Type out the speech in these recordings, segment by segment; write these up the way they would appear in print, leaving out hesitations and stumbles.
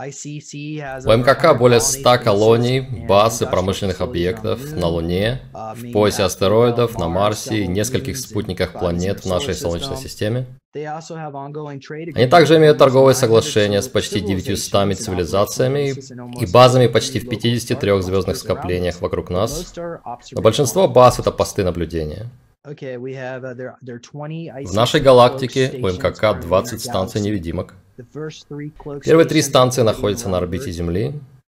У МКК более 100 колоний, баз и промышленных объектов на Луне, в поясе астероидов, на Марсе и нескольких спутниках планет в нашей Солнечной системе. Они также имеют торговые соглашения с почти 900 цивилизациями и базами почти в 53 звездных скоплениях вокруг нас. Но большинство баз — это посты наблюдения. В нашей галактике у МКК 20 станций невидимок. Первые 3 станции находятся на орбите Земли.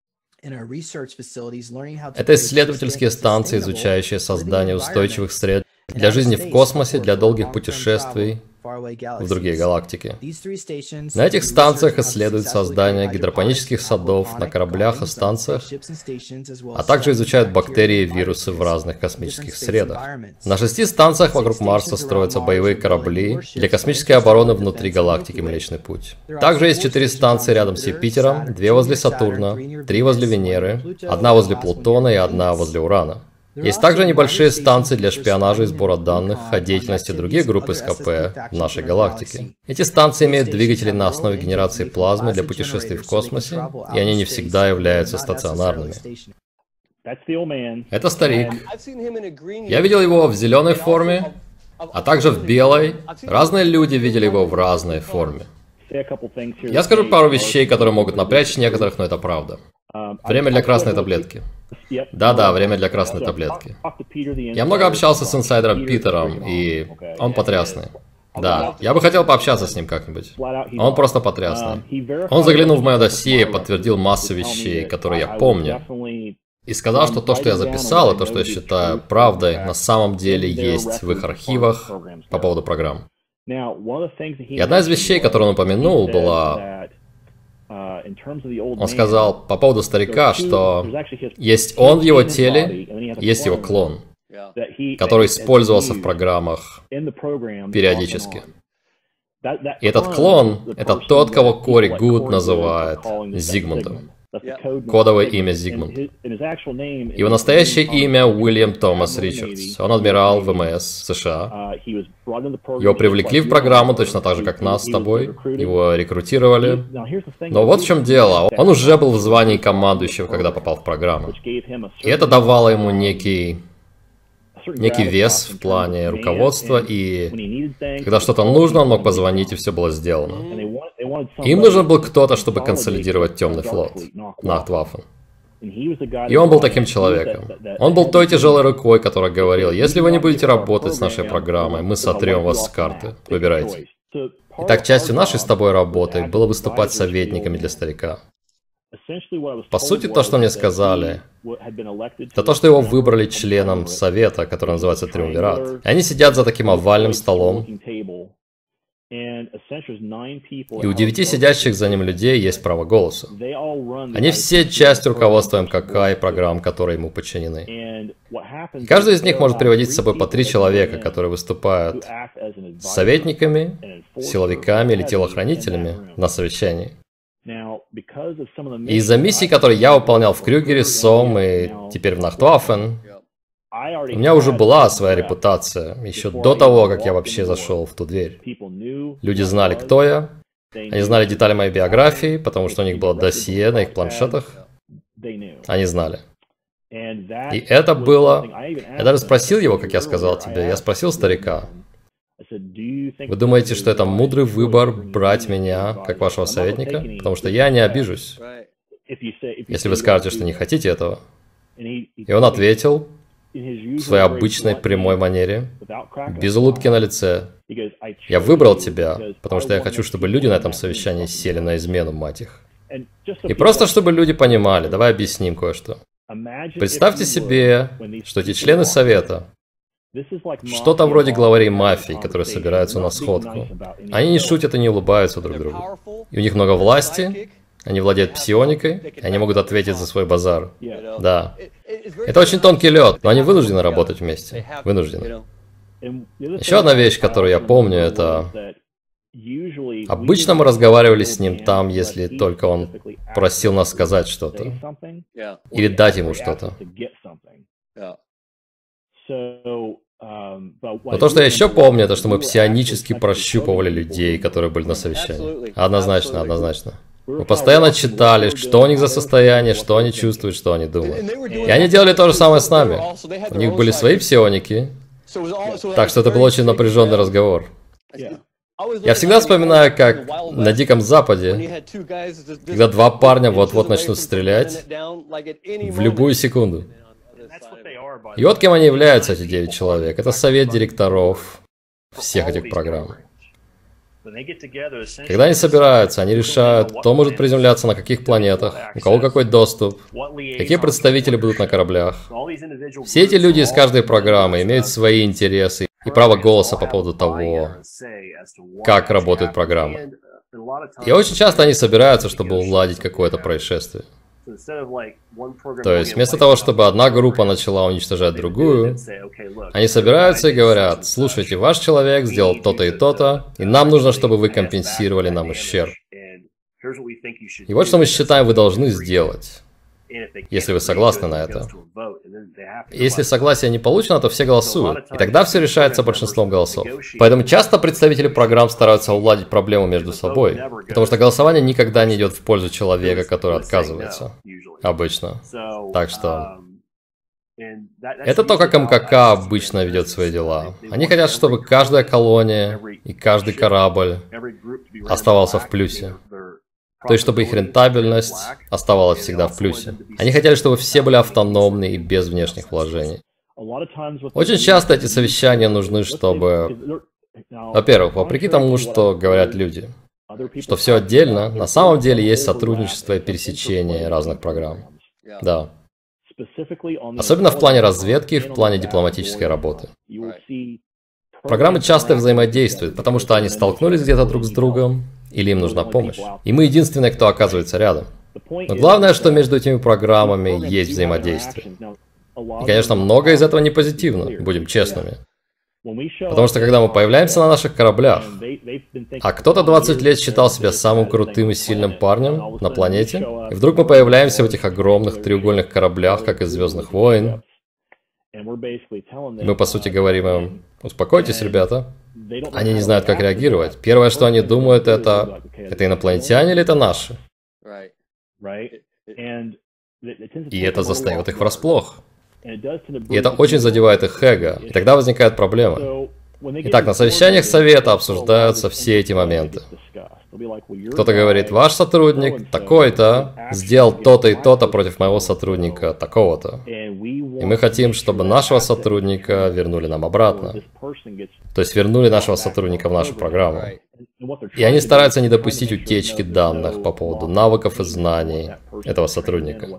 Это исследовательские станции, изучающие создание устойчивых сред для жизни в космосе, для долгих путешествий в другие галактики. На этих станциях исследуют создание гидропонических садов на кораблях и станциях, а также изучают бактерии и вирусы в разных космических средах. На 6 станциях вокруг Марса строятся боевые корабли для космической обороны внутри галактики Млечный Путь. Также есть 4 станции рядом с Юпитером, 2 возле Сатурна, 3 возле Венеры, 1 возле Плутона и 1 возле Урана. Есть также небольшие станции для шпионажа и сбора данных о деятельности других групп СКП в нашей галактике. Эти станции имеют двигатели на основе генерации плазмы для путешествий в космосе, и они не всегда являются стационарными. Это старик. Я видел его в зеленой форме, а также в белой. Разные люди видели его в разной форме. Я скажу пару вещей, которые могут напрячь некоторых, но это правда. Время для красной таблетки. Да-да, время для красной таблетки. Я много общался с инсайдером Питером, и он потрясный. Да, я бы хотел пообщаться с ним как-нибудь. Он просто потрясный. Он заглянул в мое досье и подтвердил массу вещей, которые я помню. И сказал, что то, что я записал, и то, что я считаю правдой, на самом деле есть в их архивах по поводу программ. И одна из вещей, которую он упомянул, была... Он сказал по поводу старика, что есть он в его теле, есть его клон, который использовался в программах периодически. И этот клон — это тот, кого Кори Гуд называет Зигмундом. Кодовое имя Зигмунд. Его настоящее имя Уильям Томас Ричардс. Он адмирал ВМС США. Его привлекли в программу точно так же, как нас с тобой. Его рекрутировали. Но вот в чем дело. Он уже был в звании командующего, когда попал в программу. И это давало ему некий вес в плане руководства, и когда что-то нужно, он мог позвонить, и все было сделано. Им нужен был кто-то, чтобы консолидировать Темный флот, Нахтваффен. И он был таким человеком. Он был той тяжелой рукой, которая говорил: если вы не будете работать с нашей программой, мы сотрем вас с карты. Выбирайте. Итак, частью нашей с тобой работы было выступать советниками для старика. По сути, то, что мне сказали, это то, что его выбрали членом совета, который называется Триумвират. И они сидят за таким овальным столом, и у 9 сидящих за ним людей есть право голоса. Они все часть руководства МКК и программ, которые ему подчинены. И каждый из них может приводить с собой по 3 человека, которые выступают советниками, силовиками или телохранителями на совещании. И из-за миссий, которые я выполнял в Крюгере, СОМ и теперь в Нахтваффен, у меня уже была своя репутация, еще до того, как я вообще зашел в ту дверь. Люди знали, кто я, они знали детали моей биографии, потому что у них было досье на их планшетах. Они знали. И это было... Я даже спросил его, как я сказал тебе, я спросил старика: вы думаете, что это мудрый выбор брать меня как вашего советника? Потому что я не обижусь, если вы скажете, что не хотите этого. И он ответил в своей обычной прямой манере, без улыбки на лице: я выбрал тебя, потому что я хочу, чтобы люди на этом совещании сели на измену, мать их. И просто чтобы люди понимали, давай объясним кое-что. Представьте себе, что эти члены совета что-то вроде главарей мафии, которые собираются на сходку. Они не шутят и не улыбаются друг другу. И у них много власти, они владеют псионикой, и они могут ответить за свой базар. Да. Это очень тонкий лед, но они вынуждены работать вместе. Вынуждены. Еще одна вещь, которую я помню, это... Обычно мы разговаривали с ним там, если только он просил нас сказать что-то. Или дать ему что-то. Но то, что я еще помню, это что мы псионически прощупывали людей, которые были на совещании. Однозначно, однозначно. Мы постоянно читали, что у них за состояние, что они чувствуют, что они думают. И они делали то же самое с нами. У них были свои псионики. Так что это был очень напряженный разговор. Я всегда вспоминаю, как на Диком Западе, когда два парня вот-вот начнут стрелять в любую секунду. И вот кем они являются, эти 9 человек. Это совет директоров всех этих программ. Когда они собираются, они решают, кто может приземляться на каких планетах, у кого какой доступ, какие представители будут на кораблях. Все эти люди из каждой программы имеют свои интересы и право голоса по поводу того, как работает программа. И очень часто они собираются, чтобы уладить какое-то происшествие. То есть, вместо того, чтобы одна группа начала уничтожать другую, они собираются и говорят: слушайте, ваш человек сделал то-то и то-то, и нам нужно, чтобы вы компенсировали нам ущерб. И вот что мы считаем, вы должны сделать, если вы согласны на это. Если согласие не получено, то все голосуют, и тогда все решается большинством голосов. Поэтому часто представители программ стараются уладить проблему между собой, потому что голосование никогда не идет в пользу человека, который отказывается. Обычно. Так что... Это то, как МКК обычно ведет свои дела. Они хотят, чтобы каждая колония и каждый корабль оставался в плюсе. То есть, чтобы их рентабельность оставалась всегда в плюсе. Они хотели, чтобы все были автономны и без внешних вложений. Очень часто эти совещания нужны, чтобы... Во-первых, вопреки тому, что говорят люди, что все отдельно, на самом деле есть сотрудничество и пересечение разных программ. Да. Особенно в плане разведки и в плане дипломатической работы. Программы часто взаимодействуют, потому что они столкнулись где-то друг с другом, или им нужна помощь. И мы единственные, кто оказывается рядом. Но главное, что между этими программами есть взаимодействие. И, конечно, многое из этого не позитивно, будем честными. Потому что когда мы появляемся на наших кораблях, а кто-то 20 лет считал себя самым крутым и сильным парнем на планете, и вдруг мы появляемся в этих огромных треугольных кораблях, как из «Звездных войн», и мы, по сути, говорим им: успокойтесь, ребята. Они не знают, как реагировать. Первое, что они думают, это инопланетяне или это наши? И это застает их врасплох. И это очень задевает их эго. И тогда возникают проблемы. Итак, на совещаниях совета обсуждаются все эти моменты. Кто-то говорит: ваш сотрудник такой-то сделал то-то и то-то против моего сотрудника такого-то. И мы хотим, чтобы нашего сотрудника вернули нам обратно. То есть вернули нашего сотрудника в нашу программу. И они стараются не допустить утечки данных по поводу навыков и знаний этого сотрудника.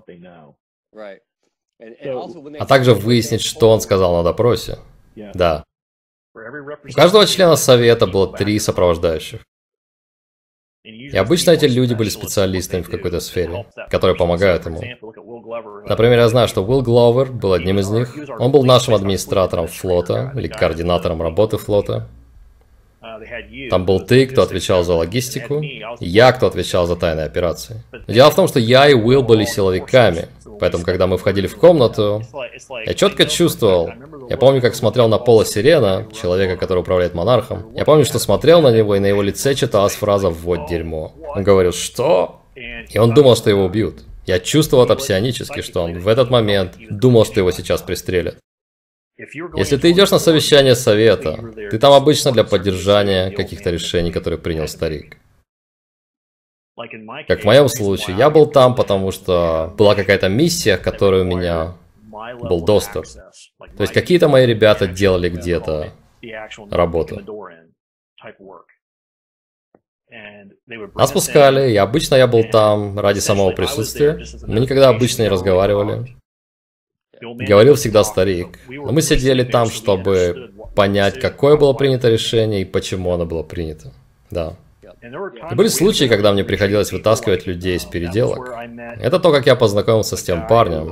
А также выяснить, что он сказал на допросе. Да. У каждого члена совета было 3 сопровождающих. И обычно эти люди были специалистами в какой-то сфере, которые помогают ему. Например, я знаю, что Уилл Гловер был одним из них. Он был нашим администратором флота, или координатором работы флота. Там был ты, кто отвечал за логистику, и я, кто отвечал за тайные операции. Но дело в том, что я и Уилл были силовиками, поэтому, когда мы входили в комнату, я четко чувствовал. Я помню, как смотрел на Пола Сирена, человека, который управляет монархом. Я помню, что смотрел на него, и на его лице читалась фраза «вот дерьмо». Он говорил: что? И он думал, что его убьют. Я чувствовал это псионически, что он в этот момент думал, что его сейчас пристрелят. Если ты идешь на совещание совета, ты там обычно для поддержания каких-то решений, которые принял старик. Как в моем случае, я был там, потому что была какая-то миссия, к которой у меня был доступ. То есть какие-то мои ребята делали где-то работу. Нас пускали, и обычно я был там ради самого присутствия. Мы никогда обычно не разговаривали. Говорил всегда старик. Но мы сидели там, чтобы понять, какое было принято решение и почему оно было принято. Да. И были случаи, когда мне приходилось вытаскивать людей из переделок. Это то, как я познакомился с тем парнем.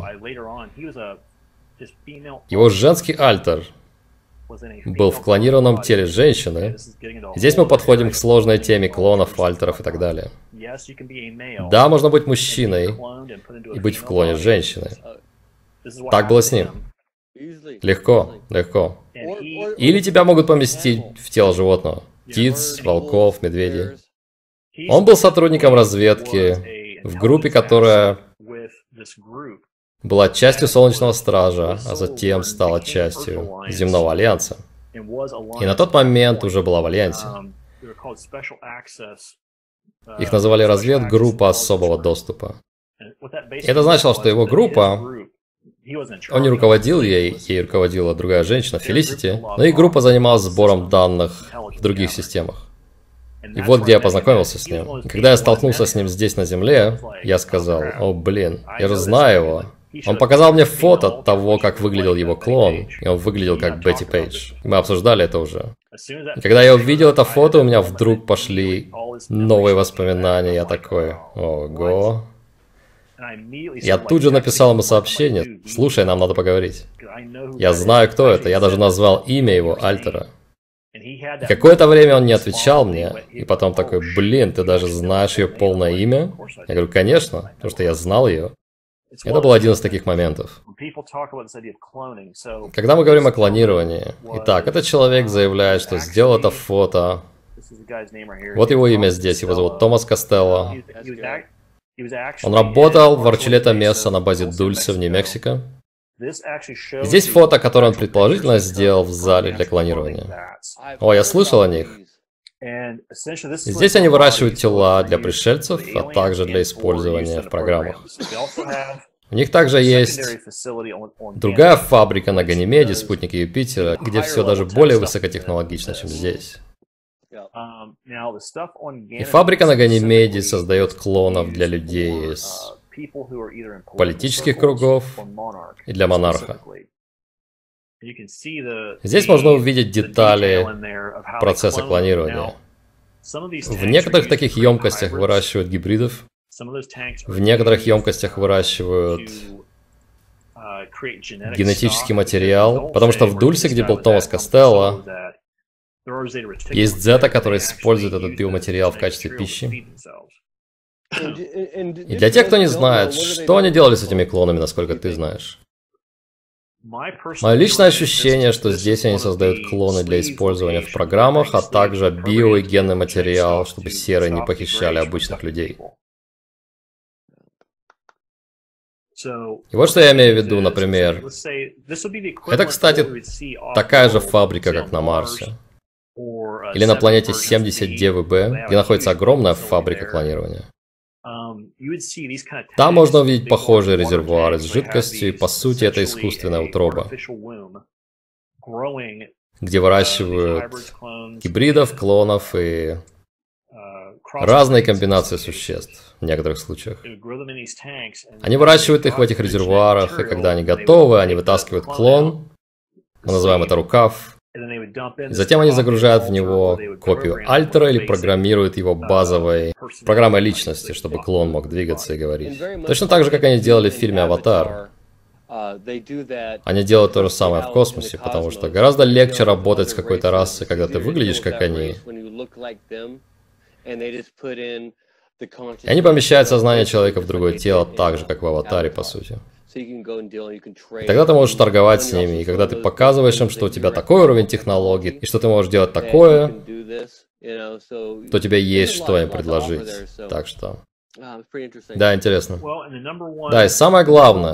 Его женский альтер был в клонированном теле женщины. Здесь мы подходим к сложной теме клонов, альтеров и так далее. Да, можно быть мужчиной и быть в клоне женщины. Так было с ним. Легко, легко. Или тебя могут поместить в тело животного. Птиц, волков, медведей. Он был сотрудником разведки в группе, которая была частью Солнечного Стража, а затем стала частью Земного Альянса. И на тот момент уже была в Альянсе. Их называли разведгруппа особого доступа. И это значило, что его группа, он не руководил ей руководила другая женщина, Фелисити, но их группа занималась сбором данных в других системах. И вот где я познакомился с ним. И когда я столкнулся с ним здесь на Земле, я сказал: «О, блин, я же знаю его». Он показал мне фото того, как выглядел его клон, и он выглядел как Бетти Пейдж. Мы обсуждали это уже. И когда я увидел это фото, у меня вдруг пошли новые воспоминания. Я такой: ого. Я тут же написал ему сообщение: «Слушай, нам надо поговорить». Я знаю, кто это, я даже назвал имя его альтера. И какое-то время он не отвечал мне, и потом такой: «Блин, ты даже знаешь ее полное имя?» Я говорю: «Конечно, потому что я знал ее». Это был один из таких моментов. Когда мы говорим о клонировании, итак, этот человек заявляет, что сделал это фото. Вот его имя здесь, его зовут Томас Костелло. Он работал в Арчулета Месса на базе Дульсе в Нью-Мексико. Здесь фото, которое он предположительно сделал в зале для клонирования. О, я слышал о них. Здесь они выращивают тела для пришельцев, а также для использования в программах. У них также есть другая фабрика на Ганимеде, спутнике Юпитера, где все даже более высокотехнологично, чем здесь. И фабрика на Ганимеде создает клонов для людей из политических кругов и для монарха. Здесь можно увидеть детали процесса клонирования. В некоторых таких емкостях выращивают гибридов, в некоторых емкостях выращивают генетический материал, потому что в Дульсе, где был Томас Костелло, есть дзета, который использует этот биоматериал в качестве пищи. И для тех, кто не знает, что они делали с этими клонами, насколько ты знаешь? Мое личное ощущение, что здесь они создают клоны для использования в программах, а также био- и генный материал, чтобы серые не похищали обычных людей. И вот что я имею в виду, например. Это, кстати, такая же фабрика, как на Марсе. Или на планете 70 ДВБ, где находится огромная фабрика клонирования. Там можно увидеть похожие резервуары с жидкостью, и по сути это искусственная утроба, где выращивают гибридов, клонов и разные комбинации существ в некоторых случаях. Они выращивают их в этих резервуарах, и когда они готовы, они вытаскивают клон, мы называем это рукав, и затем они загружают в него копию альтера или программируют его базовой программой личности, чтобы клон мог двигаться и говорить. Точно так же, как они делали в фильме «Аватар». Они делают то же самое в космосе, потому что гораздо легче работать с какой-то расой, когда ты выглядишь как они. И они помещают сознание человека в другое тело так же, как в «Аватаре», по сути. И тогда ты можешь торговать с ними, и когда ты показываешь им, что у тебя такой уровень технологий, и что ты можешь делать такое, то у тебя есть что им предложить. Так что... Да, интересно. Да, и самое главное,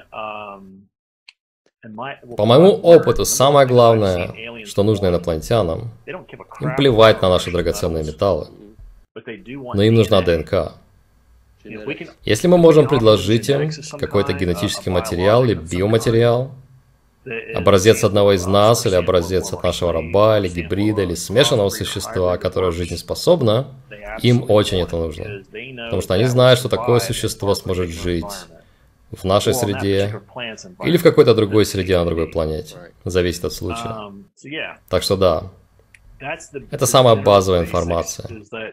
по моему опыту, самое главное, что нужно инопланетянам, им плевать на наши драгоценные металлы, но им нужна ДНК. Если мы можем предложить им какой-то генетический материал или биоматериал, образец одного из нас, или образец от нашего раба, или гибрида, или смешанного существа, которое жизнеспособно, им очень это нужно. Потому что они знают, что такое существо сможет жить в нашей среде или в какой-то другой среде на другой планете. Зависит от случая. Так что да, это самая базовая информация.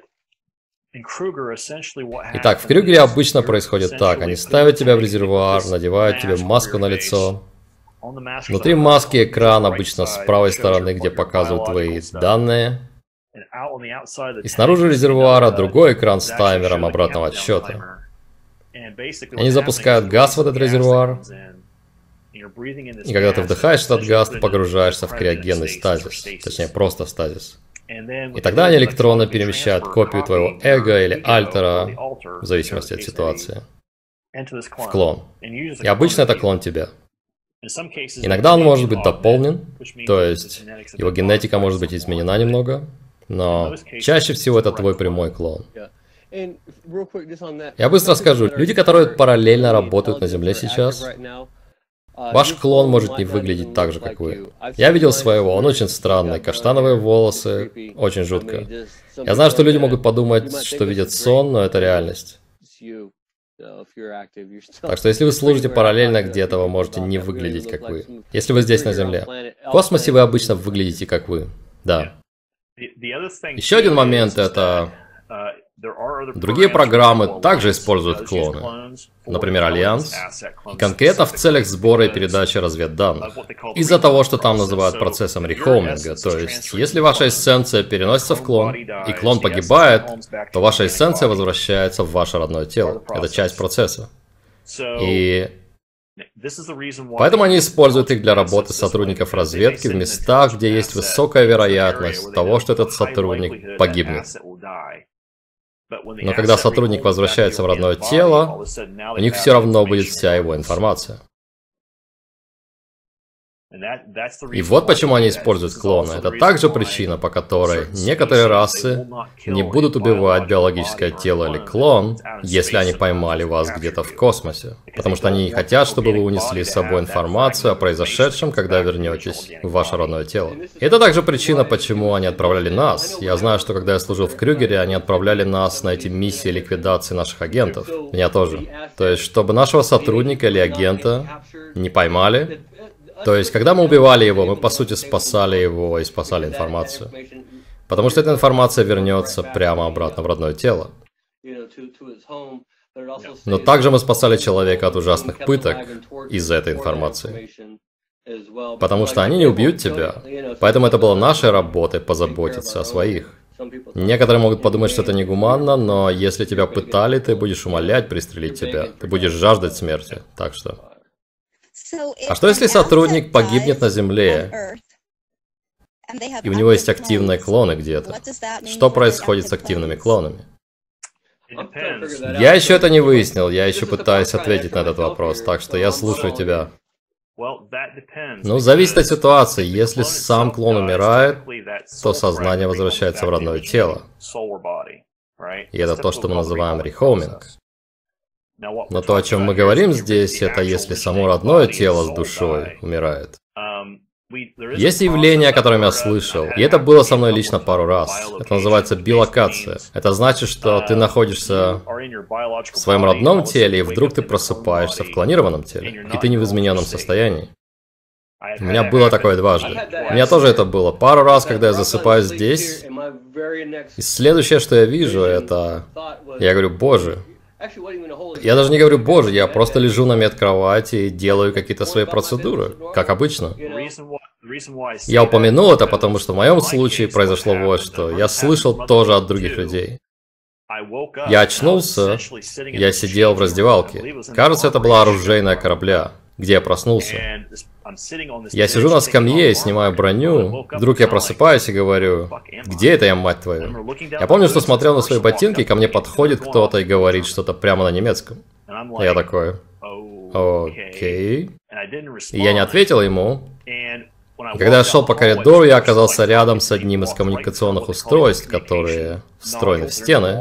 Итак, в Крюгере обычно происходит так. Они ставят тебя в резервуар, надевают тебе маску на лицо. Внутри маски экран обычно с правой стороны, где показывают твои данные. И снаружи резервуара другой экран с таймером обратного отсчета. Они запускают газ в этот резервуар. И когда ты вдыхаешь этот газ, ты погружаешься в криогенный стазис. Точнее, просто стазис. И тогда они электронно перемещают копию твоего эго или альтера, в зависимости от ситуации, в клон. И обычно это клон тебя. Иногда он может быть дополнен, то есть его генетика может быть изменена немного, но чаще всего это твой прямой клон. Я быстро скажу, люди, которые параллельно работают на Земле сейчас, ваш клон может не выглядеть так же, как вы. Я видел своего, он очень странный, каштановые волосы, очень жутко. Я знаю, что люди могут подумать, что видят сон, но это реальность. Так что если вы служите параллельно где-то, вы можете не выглядеть как вы. Если вы здесь на Земле. В космосе вы обычно выглядите как вы. Да. Еще один момент это... Другие программы также используют клоны, например, Альянс, и конкретно в целях сбора и передачи разведданных, из-за того, что там называют процессом рехоминга, то есть, если ваша эссенция переносится в клон, и клон погибает, то ваша эссенция возвращается в ваше родное тело, это часть процесса. И поэтому они используют их для работы сотрудников разведки в местах, где есть высокая вероятность того, что этот сотрудник погибнет. Но когда сотрудник возвращается в родное тело, у них все равно будет вся его информация. И вот почему они используют клоны. Это также причина, по которой некоторые расы не будут убивать биологическое тело или клон, если они поймали вас где-то в космосе. Потому что они не хотят, чтобы вы унесли с собой информацию о произошедшем, когда вернетесь в ваше родное тело. И это также причина, почему они отправляли нас. Я знаю, что когда я служил в Крюгере, они отправляли нас на эти миссии ликвидации наших агентов. Меня тоже. То есть, чтобы нашего сотрудника или агента не поймали. То есть, когда мы убивали его, мы по сути спасали его и спасали информацию. Потому что эта информация вернется прямо обратно в родное тело. Но также мы спасали человека от ужасных пыток из-за этой информации. Потому что они не убьют тебя. Поэтому это было нашей работой позаботиться о своих. Некоторые могут подумать, что это негуманно, но если тебя пытали, ты будешь умолять пристрелить тебя. Ты будешь жаждать смерти. Так что... А что если сотрудник погибнет на Земле, и у него есть активные клоны где-то? Что происходит с активными клонами? Я еще это не выяснил, я еще пытаюсь ответить на этот вопрос, так что я слушаю тебя. Ну, зависит от ситуации. Если сам клон умирает, то сознание возвращается в родное тело. И это то, что мы называем рехоминг. Но то, о чем мы говорим здесь, это если само родное тело с душой умирает. Есть явление, о котором я слышал, и это было со мной лично пару раз. Это называется билокация. Это значит, что ты находишься в своем родном теле, и вдруг ты просыпаешься в клонированном теле, и ты не в измененном состоянии. У меня было такое дважды. У меня тоже это было пару раз, когда я засыпаю здесь, и следующее, что я вижу, это... Я говорю, боже... Я даже не говорю, боже, я просто лежу на медкровати и делаю какие-то свои процедуры, как обычно. Я упомянул это, потому что в моем случае произошло вот что. Я слышал тоже от других людей. Я очнулся, я сидел в раздевалке. Кажется, это была оружейная корабля, где я проснулся. Я сижу на скамье и снимаю броню. Вдруг я просыпаюсь и говорю, где это я, мать твою? Я помню, что смотрел на свои ботинки, и ко мне подходит кто-то и говорит что-то прямо на немецком. И я такой, окей. И я не ответил ему. И когда я шел по коридору, я оказался рядом с одним из коммуникационных устройств, которые встроены в стены.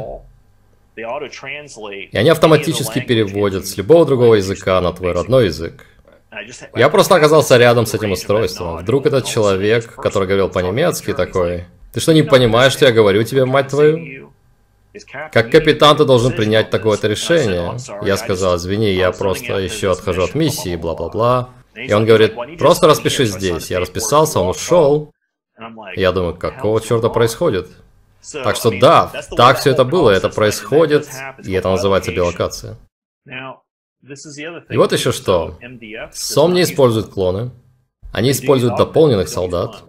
И они автоматически переводят с любого другого языка на твой родной язык. Я просто оказался рядом с этим устройством. Вдруг этот человек, который говорил по-немецки, такой: «Ты что, не понимаешь, что я говорю тебе, мать твою? Как капитан ты должен принять такое-то решение». Я сказал, извини, я просто еще отхожу от миссии, бла-бла-бла. И он говорит, просто распишись здесь. Я расписался, он ушел. Я думаю, какого черта происходит? Так что да, так все это было, это происходит, и это называется билокация. И вот еще что. СОМ не используют клоны. Они используют дополненных солдат.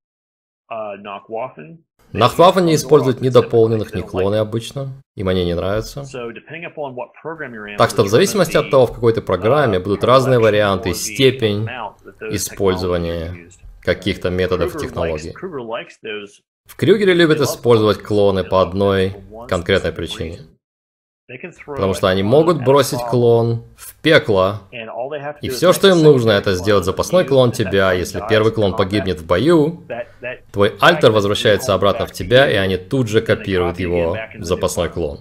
Нахтваффен не используют ни дополненных, ни клоны обычно. Им они не нравятся. Так что в зависимости от того, в какой ты программе, будут разные варианты и степень использования каких-то методов и технологий. В Крюгере любят использовать клоны по одной конкретной причине. Потому что они могут бросить клон в пекло, и все, что им нужно, это сделать запасной клон тебя. Если первый клон погибнет в бою, твой альтер возвращается обратно в тебя, и они тут же копируют его в запасной клон.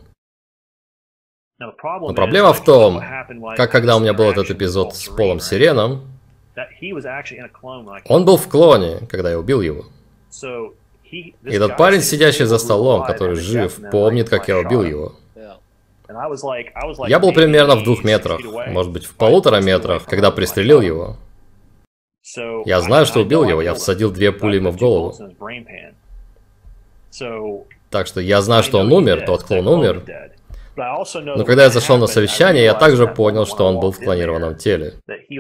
Но проблема в том, как когда у меня был этот эпизод с Полом Сиреном, он был в клоне, когда я убил его. И этот парень, сидящий за столом, который жив, помнит, как я убил его. Я был примерно в 2 метрах, может быть, в 1,5 метрах, когда пристрелил его. Я знаю, что убил его, я всадил 2 пули ему в голову. Так что я знаю, что он умер, тот клон умер. Но когда я зашел на совещание, я также понял, что он был в клонированном теле.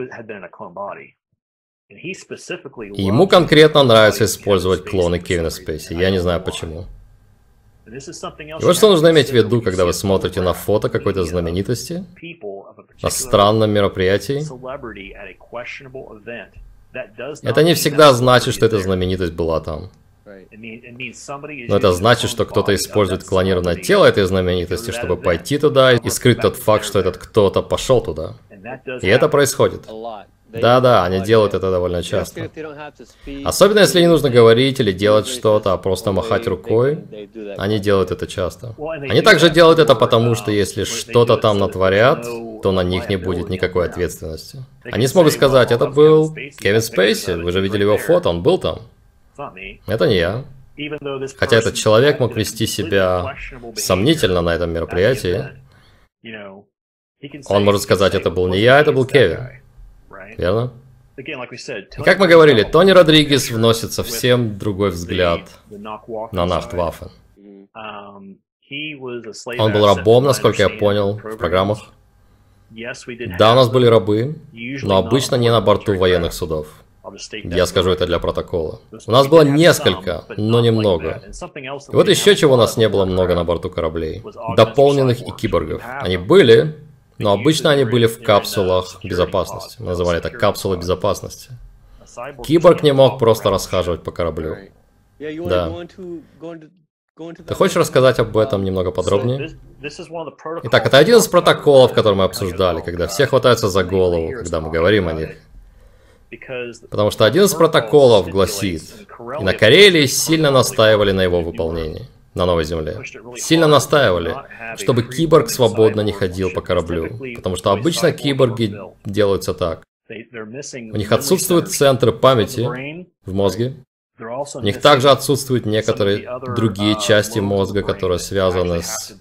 И ему конкретно нравится использовать клоны Кевина Спейси, я не знаю почему. И вот что нужно иметь в виду, когда вы смотрите на фото какой-то знаменитости, на странном мероприятии. Это не всегда значит, что эта знаменитость была там. Но это значит, что кто-то использует клонированное тело этой знаменитости, чтобы пойти туда и скрыть тот факт, что этот кто-то пошел туда. И это происходит. Да-да, они делают это довольно часто. Особенно если не нужно говорить или делать что-то, а просто махать рукой, они делают это часто. Они также делают это потому, что если что-то там натворят, то на них не будет никакой ответственности. Они смогут сказать, это был Кевин Спейси, вы же видели его фото, он был там. Это не я. Хотя этот человек мог вести себя сомнительно на этом мероприятии. Он может сказать, это был не я, это был Кевин. Верно? И как мы говорили, Тони Родригес вносит совсем другой взгляд на Нахтваффен. Он был рабом, насколько я понял, в программах. Да, у нас были рабы, но обычно не на борту военных судов. Я скажу это для протокола. У нас было несколько, но немного. И вот еще чего у нас не было много на борту кораблей. Дополненных и киборгов. Они были, но обычно они были в капсулах безопасности. Мы называли это капсулы безопасности. Киборг не мог просто расхаживать по кораблю. Да. Ты хочешь рассказать об этом немного подробнее? Итак, это один из протоколов, который мы обсуждали, когда все хватаются за голову, когда мы говорим о них. Потому что один из протоколов гласит, и на Карелии сильно настаивали на его выполнении, на Новой Земле. Сильно настаивали, чтобы киборг свободно не ходил по кораблю. Потому что обычно киборги делаются так. У них отсутствуют центры памяти в мозге. У них также отсутствуют некоторые другие части мозга, которые связаны с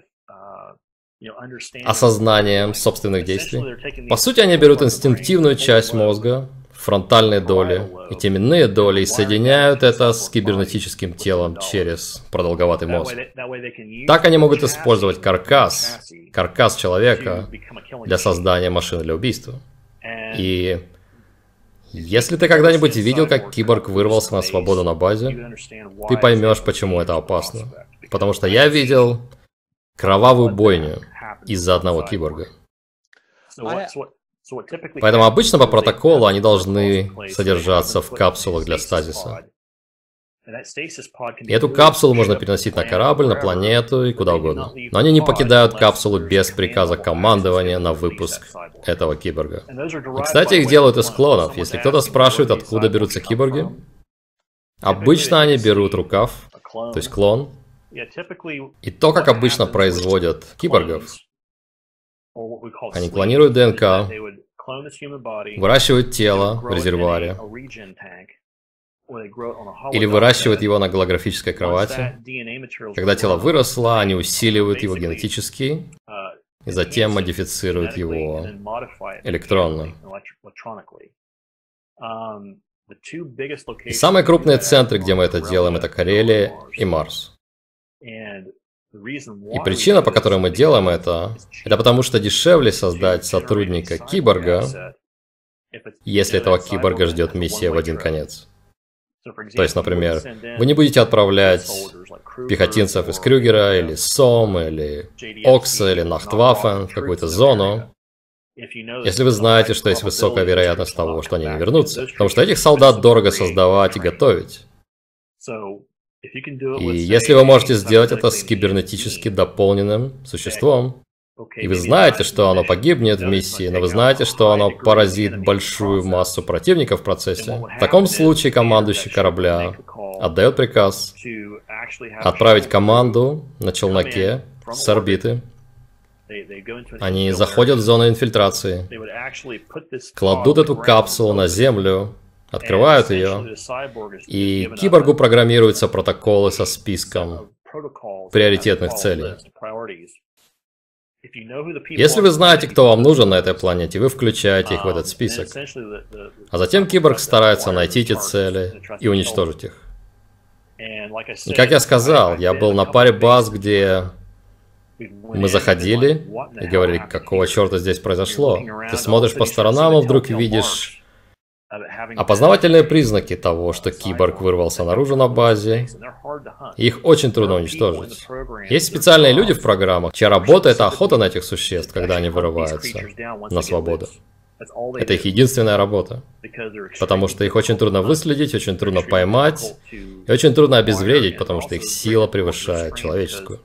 осознанием собственных действий. По сути, они берут инстинктивную часть мозга, фронтальные доли и теменные доли, и соединяют это с кибернетическим телом через продолговатый мозг. Так они могут использовать каркас человека для создания машины для убийства. И если ты когда-нибудь видел, как киборг вырвался на свободу на базе, ты поймешь, почему это опасно. Потому что я видел кровавую бойню из-за одного киборга. Поэтому обычно по протоколу они должны содержаться в капсулах для стазиса. И эту капсулу можно переносить на корабль, на планету и куда угодно. Но они не покидают капсулу без приказа командования на выпуск этого киборга. И, кстати, их делают из клонов. Если кто-то спрашивает, откуда берутся киборги, обычно они берут рукав, то есть клон. И то, как обычно производят киборгов, они клонируют ДНК, выращивают тело в резервуаре, или выращивают его на голографической кровати. Когда тело выросло, они усиливают его генетически, и затем модифицируют его электронно. И самые крупные центры, где мы это делаем, это Карелия и Марс. И причина, по которой мы делаем это потому что дешевле создать сотрудника киборга, если этого киборга ждет миссия в один конец. То есть, например, вы не будете отправлять пехотинцев из Крюгера, или СОМ, или Окса, или Нахтваффен в какую-то зону, если вы знаете, что есть высокая вероятность того, что они не вернутся. Потому что этих солдат дорого создавать и готовить. И если вы можете сделать это с кибернетически дополненным существом, и вы знаете, что оно погибнет в миссии, но вы знаете, что оно поразит большую массу противников в процессе, в таком случае командующий корабля отдает приказ отправить команду на челноке с орбиты. Они заходят в зону инфильтрации, кладут эту капсулу на Землю, открывают ее, и киборгу программируются протоколы со списком приоритетных целей. Если вы знаете, кто вам нужен на этой планете, вы включаете их в этот список. А затем киборг старается найти эти цели и уничтожить их. И как я сказал, я был на паре баз, где мы заходили и говорили, какого черта здесь произошло. Ты смотришь по сторонам и вдруг видишь опознавательные признаки того, что киборг вырвался наружу на базе. Их очень трудно уничтожить. Есть специальные люди в программах, чья работа — это охота на этих существ, когда они вырываются на свободу. Это их единственная работа. Потому что их очень трудно выследить, очень трудно поймать, и очень трудно обезвредить, потому что их сила превышает человеческую.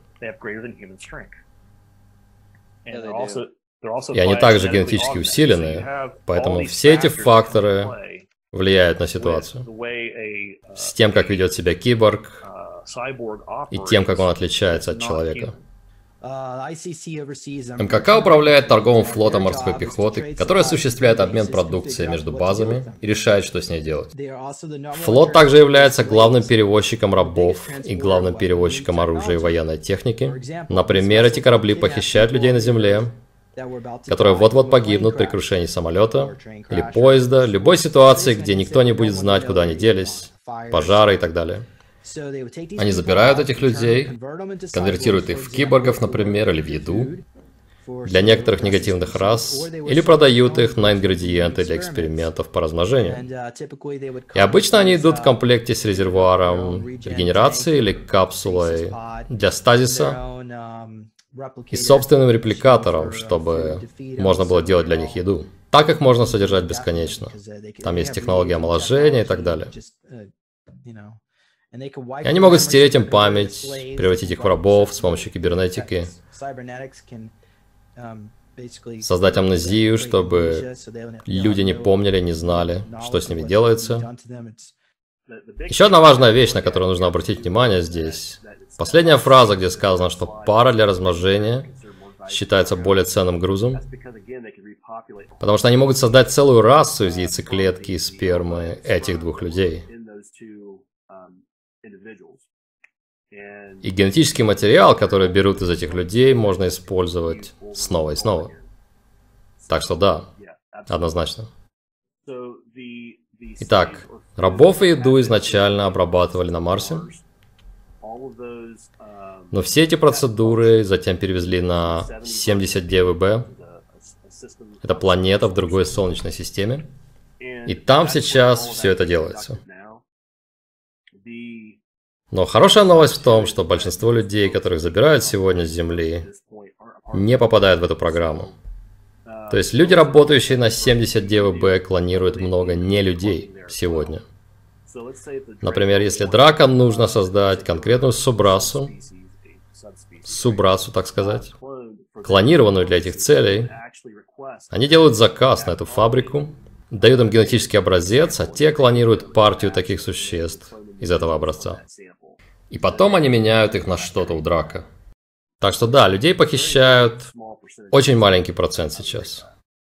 И они также генетически усилены, поэтому все эти факторы влияют на ситуацию. С тем, как ведет себя киборг, и тем, как он отличается от человека. МКК управляет торговым флотом морской пехоты, который осуществляет обмен продукцией между базами и решает, что с ней делать. Флот также является главным перевозчиком рабов и главным перевозчиком оружия и военной техники. Например, эти корабли похищают людей на земле, которые вот-вот погибнут при крушении самолета или поезда, любой ситуации, где никто не будет знать, куда они делись, пожары и так далее. Они забирают этих людей, конвертируют их в киборгов, например, или в еду для некоторых негативных рас, или продают их на ингредиенты для экспериментов по размножению. И обычно они идут в комплекте с резервуаром регенерации или капсулой для стазиса и собственным репликатором, чтобы можно было делать для них еду. Так их можно содержать бесконечно. Там есть технология омоложения и так далее. И они могут стереть им память, превратить их в рабов с помощью кибернетики, создать амнезию, чтобы люди не помнили, не знали, что с ними делается. Еще одна важная вещь, на которую нужно обратить внимание здесь. Последняя фраза, где сказано, что пара для размножения считается более ценным грузом, потому что они могут создать целую расу из яйцеклетки и спермы этих двух людей. И генетический материал, который берут из этих людей, можно использовать снова и снова. Так что да, однозначно. Итак, рабов и еду изначально обрабатывали на Марсе, но все эти процедуры затем перевезли на 79Б. Это планета в другой Солнечной системе. И там сейчас все это делается. Но хорошая новость в том, что большинство людей, которых забирают сегодня с Земли, не попадают в эту программу. То есть люди, работающие на 79Б, клонируют много не людей сегодня. Например, если дракам нужно создать конкретную субрасу, так сказать, клонированную для этих целей, они делают заказ на эту фабрику, дают им генетический образец, а те клонируют партию таких существ из этого образца. И потом они меняют их на что-то у драка. Так что да, людей похищают очень маленький процент сейчас.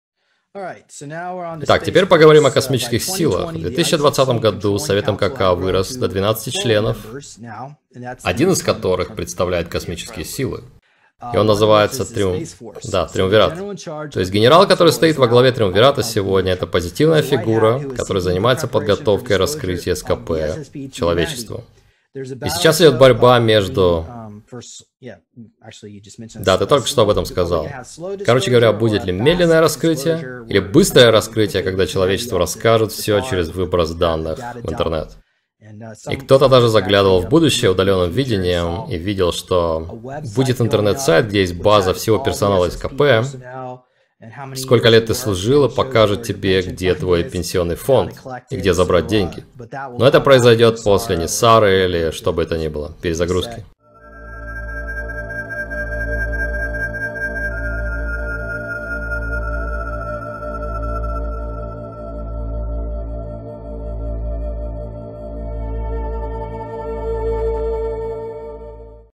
Итак, теперь поговорим о космических силах. В 2020 году Совет МКК вырос до 12 членов, один из которых представляет космические силы. И он называется Триумвират. То есть генерал, который стоит во главе Триумвирата сегодня, это позитивная фигура, которая занимается подготовкой раскрытия СКП человечеству. И сейчас идет борьба между... Да, ты только что об этом сказал. Короче говоря, будет ли медленное раскрытие или быстрое раскрытие, когда человечество расскажет все через выброс данных в интернет. И кто-то даже заглядывал в будущее удаленным видением и видел, что будет интернет-сайт, где есть база всего персонала СКП, Сколько лет ты служила, покажет тебе, где твой пенсионный фонд и где забрать деньги. Но это произойдет после Нисары или что бы это ни было, перезагрузки.